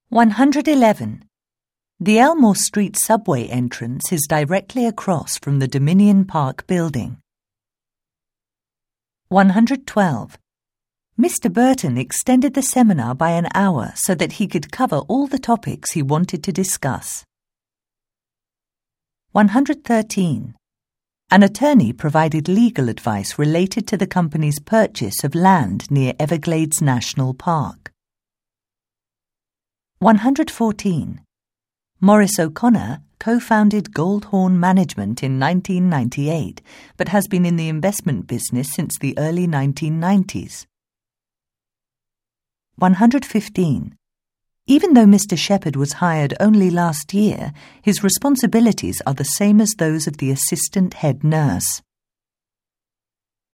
111. The Elmore Street subway entrance is directly across from the Dominion Park building. 112. Mr. Burton extended the seminar by an hour so that he could cover all the topics he wanted to discuss. 113. An attorney provided legal advice related to the company's purchase of land near Everglades National Park. 114. Maurice O'Connor co-founded Goldhorn Management in 1998, but has been in the investment business since the early 1990s. 115. Even though Mr. Shepherd was hired only last year, his responsibilities are the same as those of the assistant head nurse.